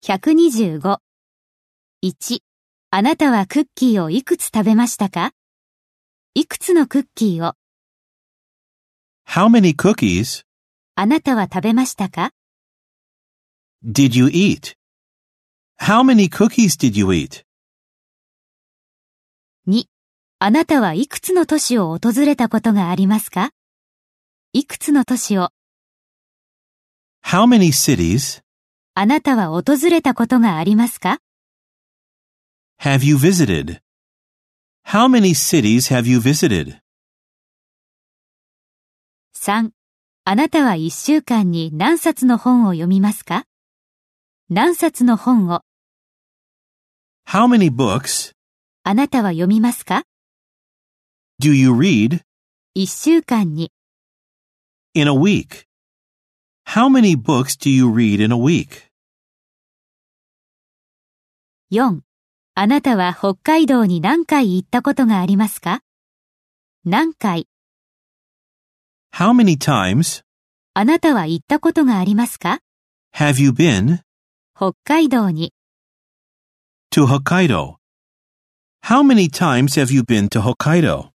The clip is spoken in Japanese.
125。1、あなたはクッキーをいくつ食べましたか？いくつのクッキーを、 How many cookies あなたは食べましたか？ did you eat? How many cookies did you eat? 2、あなたはいくつの都市を訪れたことがありますか？いくつの都市を、 How many cities あなたは訪れたことがありますか？ have you visited? How many cities have you visited? 3、あなたは1週間に何冊の本を読みますか？何冊の本を、 How many books あなたは読みますか？ do you read 1週間に、 in a week? How many books do you read in a week? 4、あなたは北海道に何回行ったことがありますか？何回、 How many times あなたは行ったことがありますか？ have you been 北海道に、 to Hokkaido? How many times have you been to Hokkaido?